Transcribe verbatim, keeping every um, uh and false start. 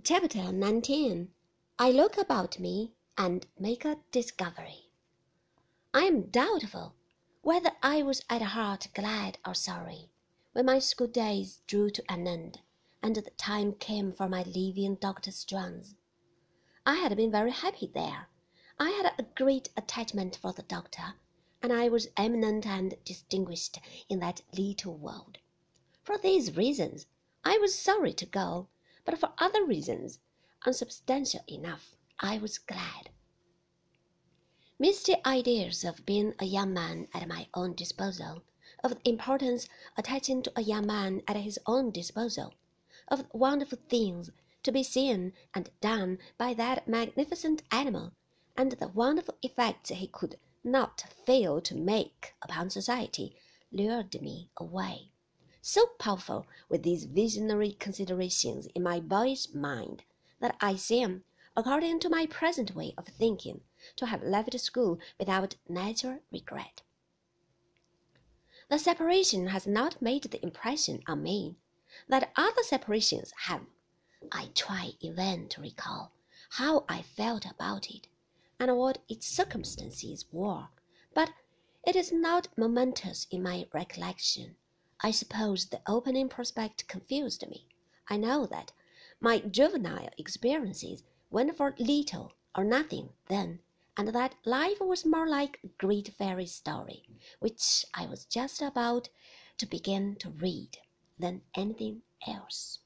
Chapter nineteen. I look about me and make a discovery. I am doubtful whether I was at heart glad or sorry when my school days drew to an end and the time came for my leaving Doctor Strong's. I had been very happy there. I had a great attachment for the doctor, and I was eminent and distinguished in that little world. For these reasons, I was sorry to go, but for other reasons, unsubstantial enough, I was glad. Misty ideas of being a young man at my own disposal, of the importance attaching to a young man at his own disposal, of the wonderful things to be seen and done by that magnificent animal, and the wonderful effects he could not fail to make upon society, lured me away. So powerful were these visionary considerations in my boyish mind that I seem, according to my present way of thinking, to have left school without natural regret. The separation has not made the impression on me that other separations have. I try in vain to recall how I felt about it, and what its circumstances were, but it is not momentous in my recollection. I suppose the opening prospect confused me. I know that my juvenile experiences went for little or nothing then, and that life was more like a great fairy story, which I was just about to begin to read, than anything else.